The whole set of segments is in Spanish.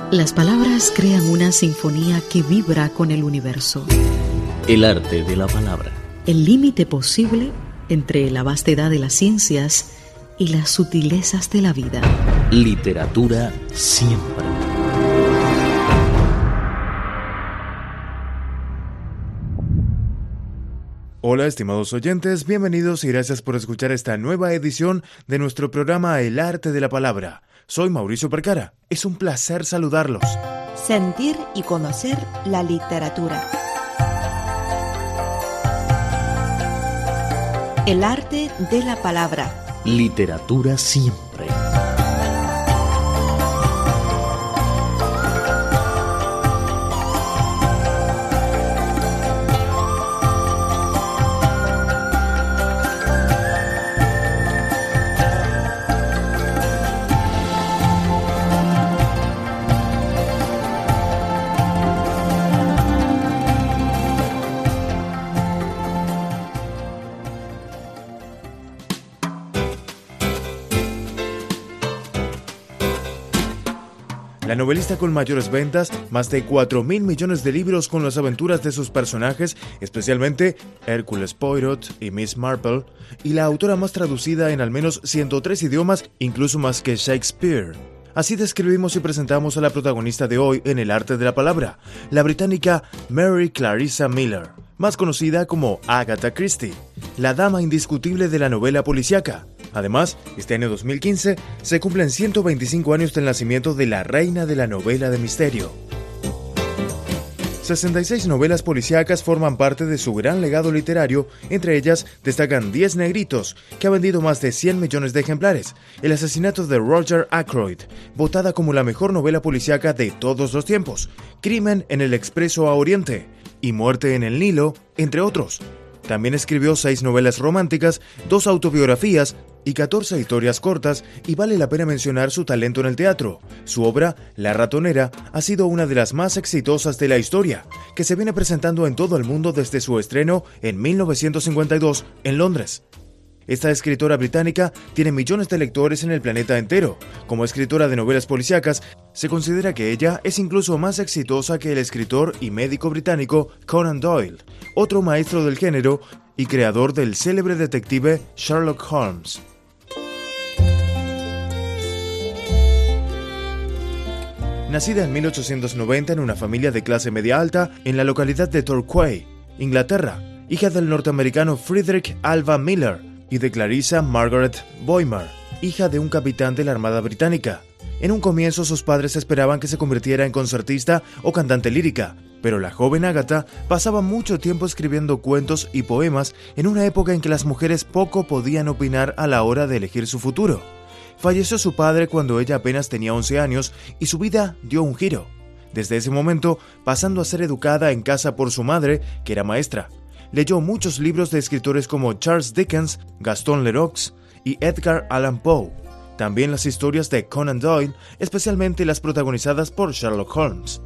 Las palabras crean una sinfonía que vibra con el universo. El arte de la palabra. El límite posible entre la vastedad de las ciencias y las sutilezas de la vida. Literatura siempre. Hola, estimados oyentes, bienvenidos y gracias por escuchar esta nueva edición de nuestro programa El Arte de la Palabra. Soy Mauricio Percara. Es un placer saludarlos. Sentir y conocer la literatura. El arte de la palabra. Literatura siempre. La novelista con mayores ventas, más de 4.000 millones de libros con las aventuras de sus personajes, especialmente Hércules Poirot y Miss Marple, y la autora más traducida en al menos 103 idiomas, incluso más que Shakespeare. Así describimos y presentamos a la protagonista de hoy en El Arte de la Palabra, la británica Mary Clarissa Miller, más conocida como Agatha Christie, la dama indiscutible de la novela policíaca. Además, este año 2015 se cumplen 125 años del nacimiento de la reina de la novela de misterio. 66 novelas policíacas forman parte de su gran legado literario, entre ellas destacan 10 negritos, que ha vendido más de 100 millones de ejemplares, El asesinato de Roger Ackroyd, votada como la mejor novela policíaca de todos los tiempos, Crimen en el Expreso a Oriente y Muerte en el Nilo, entre otros. También escribió 6 novelas románticas, 2 autobiografías y 14 historias cortas, y vale la pena mencionar su talento en el teatro. Su obra, La ratonera, ha sido una de las más exitosas de la historia, que se viene presentando en todo el mundo desde su estreno en 1952 en Londres. Esta escritora británica tiene millones de lectores en el planeta entero. Como escritora de novelas policíacas, se considera que ella es incluso más exitosa que el escritor y médico británico Conan Doyle, otro maestro del género y creador del célebre detective Sherlock Holmes. Nacida en 1890 en una familia de clase media alta en la localidad de Torquay, Inglaterra, hija del norteamericano Frederick Alva Miller y de Clarissa Margaret Boimler, hija de un capitán de la Armada Británica. En un comienzo sus padres esperaban que se convirtiera en concertista o cantante lírica, pero la joven Agatha pasaba mucho tiempo escribiendo cuentos y poemas en una época en que las mujeres poco podían opinar a la hora de elegir su futuro. Falleció su padre cuando ella apenas tenía 11 años y su vida dio un giro. Desde ese momento, pasando a ser educada en casa por su madre, que era maestra. Leyó muchos libros de escritores como Charles Dickens, Gaston Leroux y Edgar Allan Poe. También las historias de Conan Doyle, especialmente las protagonizadas por Sherlock Holmes.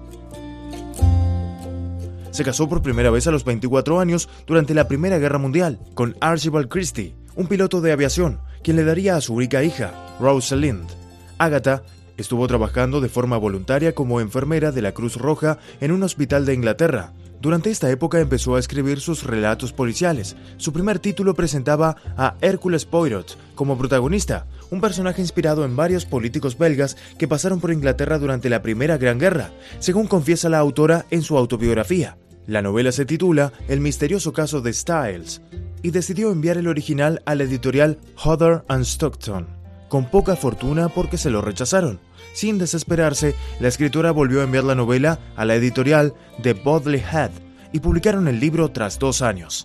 Se casó por primera vez a los 24 años durante la Primera Guerra Mundial con Archibald Christie, un piloto de aviación, quien le daría a su única hija, Rosalind. Agatha estuvo trabajando de forma voluntaria como enfermera de la Cruz Roja en un hospital de Inglaterra. Durante esta época empezó a escribir sus relatos policiales. Su primer título presentaba a Hércules Poirot como protagonista, un personaje inspirado en varios políticos belgas que pasaron por Inglaterra durante la Primera Gran Guerra, según confiesa la autora en su autobiografía. La novela se titula El misterioso caso de Styles y decidió enviar el original a la editorial Hodder & Stockton, con poca fortuna porque se lo rechazaron. Sin desesperarse, la escritora volvió a enviar la novela a la editorial de Bodley Head y publicaron el libro tras 2 años.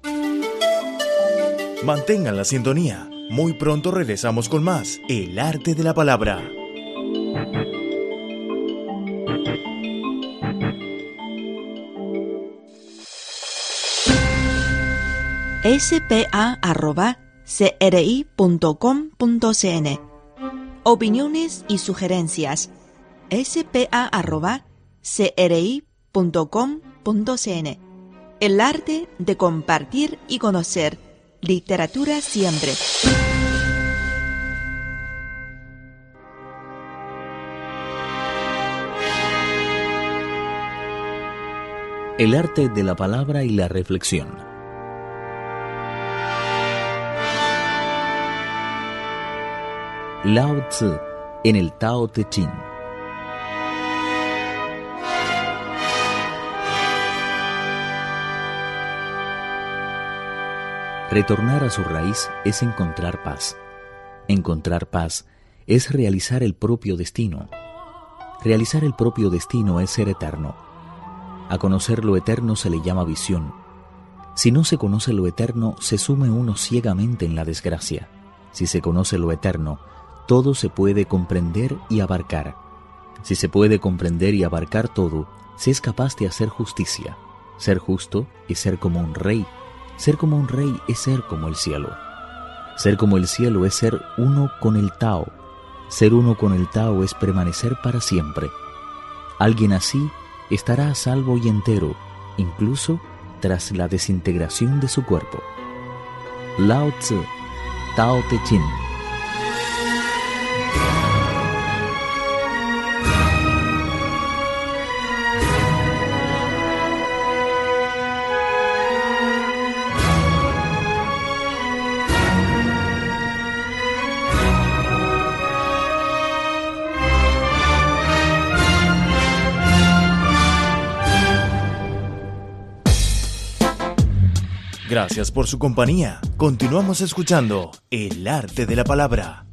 Mantengan la sintonía. Muy pronto regresamos con más El Arte de la Palabra. spa@cri.com.cn. Opiniones y sugerencias. spa@cri.com.cn. El arte de compartir y conocer. Literatura siempre. El arte de la palabra y la reflexión. Lao Tzu en el Tao Te Ching. Retornar a su raíz es encontrar paz. Encontrar paz es realizar el propio destino. Realizar el propio destino es ser eterno. A conocer lo eterno se le llama visión. Si no se conoce lo eterno, se sume uno ciegamente en la desgracia. Si se conoce lo eterno, todo se puede comprender y abarcar. Si se puede comprender y abarcar todo, se es capaz de hacer justicia. Ser justo es ser como un rey. Ser como un rey es ser como el cielo. Ser como el cielo es ser uno con el Tao. Ser uno con el Tao es permanecer para siempre. Alguien así estará a salvo y entero, incluso tras la desintegración de su cuerpo. Lao Tzu, Tao Te Ching. Gracias por su compañía. Continuamos escuchando El Arte de la Palabra.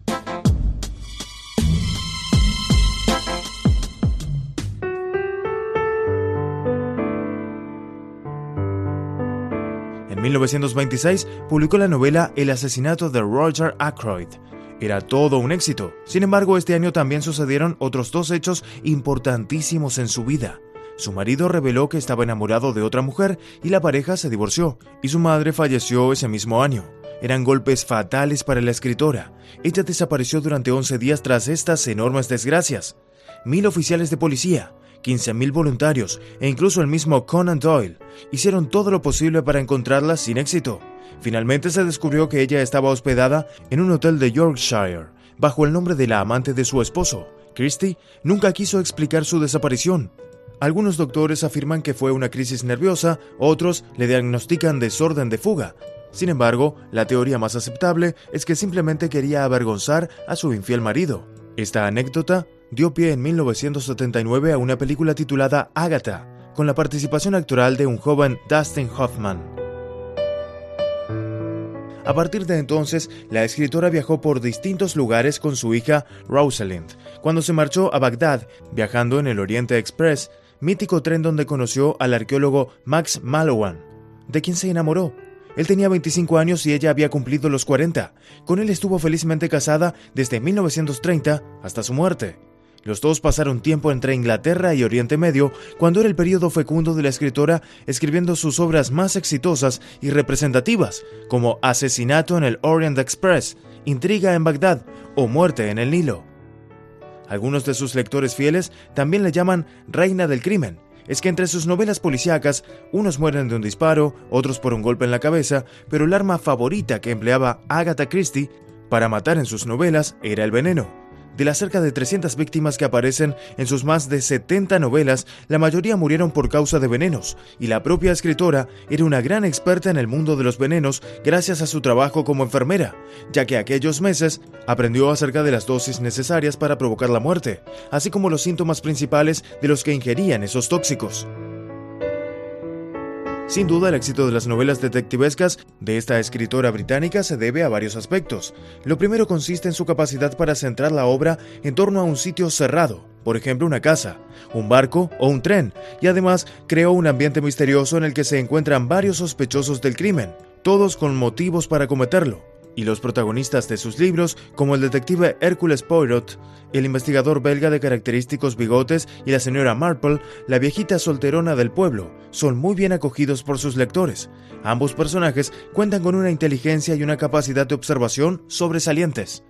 En 1926 publicó la novela El asesinato de Roger Ackroyd. Era todo un éxito. Sin embargo, este año también sucedieron otros dos hechos importantísimos en su vida. Su marido reveló que estaba enamorado de otra mujer y la pareja se divorció, y su madre falleció ese mismo año. Eran golpes fatales para la escritora. Ella desapareció durante 11 días tras estas enormes desgracias. 1,000 oficiales de policía, 15,000 voluntarios e incluso el mismo Conan Doyle hicieron todo lo posible para encontrarla sin éxito. Finalmente se descubrió que ella estaba hospedada en un hotel de Yorkshire, bajo el nombre de la amante de su esposo. Christie nunca quiso explicar su desaparición. Algunos doctores afirman que fue una crisis nerviosa, otros le diagnostican desorden de fuga. Sin embargo, la teoría más aceptable es que simplemente quería avergonzar a su infiel marido. Esta anécdota dio pie en 1979 a una película titulada Agatha, con la participación actoral de un joven Dustin Hoffman. A partir de entonces, la escritora viajó por distintos lugares con su hija Rosalind. Cuando se marchó a Bagdad, viajando en el Oriente Express, mítico tren donde conoció al arqueólogo Max Mallowan, de quien se enamoró. Él tenía 25 años y ella había cumplido los 40. Con él estuvo felizmente casada desde 1930 hasta su muerte. Los dos pasaron tiempo entre Inglaterra y Oriente Medio, cuando era el período fecundo de la escritora, escribiendo sus obras más exitosas y representativas, como Asesinato en el Orient Express, Intriga en Bagdad o Muerte en el Nilo. Algunos de sus lectores fieles también le llaman Reina del Crimen. Es que entre sus novelas policíacas, unos mueren de un disparo, otros por un golpe en la cabeza, pero el arma favorita que empleaba Agatha Christie para matar en sus novelas era el veneno. De las cerca de 300 víctimas que aparecen en sus más de 70 novelas, la mayoría murieron por causa de venenos, y la propia escritora era una gran experta en el mundo de los venenos gracias a su trabajo como enfermera, ya que aquellos meses aprendió acerca de las dosis necesarias para provocar la muerte, así como los síntomas principales de los que ingerían esos tóxicos. Sin duda, el éxito de las novelas detectivescas de esta escritora británica se debe a varios aspectos. Lo primero consiste en su capacidad para centrar la obra en torno a un sitio cerrado, por ejemplo una casa, un barco o un tren, y además creó un ambiente misterioso en el que se encuentran varios sospechosos del crimen, todos con motivos para cometerlo. Y los protagonistas de sus libros, como el detective Hercule Poirot, el investigador belga de característicos bigotes y la señora Marple, la viejita solterona del pueblo, son muy bien acogidos por sus lectores. Ambos personajes cuentan con una inteligencia y una capacidad de observación sobresalientes.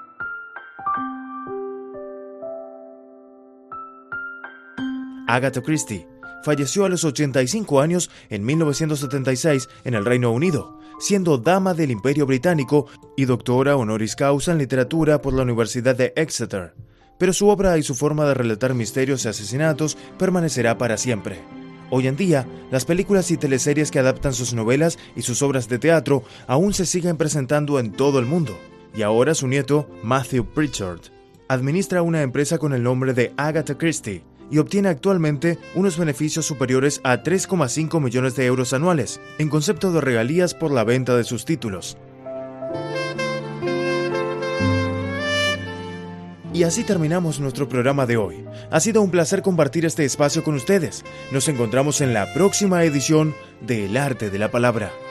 Agatha Christie falleció a los 85 años en 1976 en el Reino Unido, siendo dama del Imperio Británico y doctora honoris causa en literatura por la Universidad de Exeter. Pero su obra y su forma de relatar misterios y asesinatos permanecerá para siempre. Hoy en día, las películas y teleseries que adaptan sus novelas y sus obras de teatro aún se siguen presentando en todo el mundo. Y ahora su nieto, Matthew Pritchard, administra una empresa con el nombre de Agatha Christie y obtiene actualmente unos beneficios superiores a 3,5 millones de euros anuales, en concepto de regalías por la venta de sus títulos. Y así terminamos nuestro programa de hoy. Ha sido un placer compartir este espacio con ustedes. Nos encontramos en la próxima edición de El Arte de la Palabra.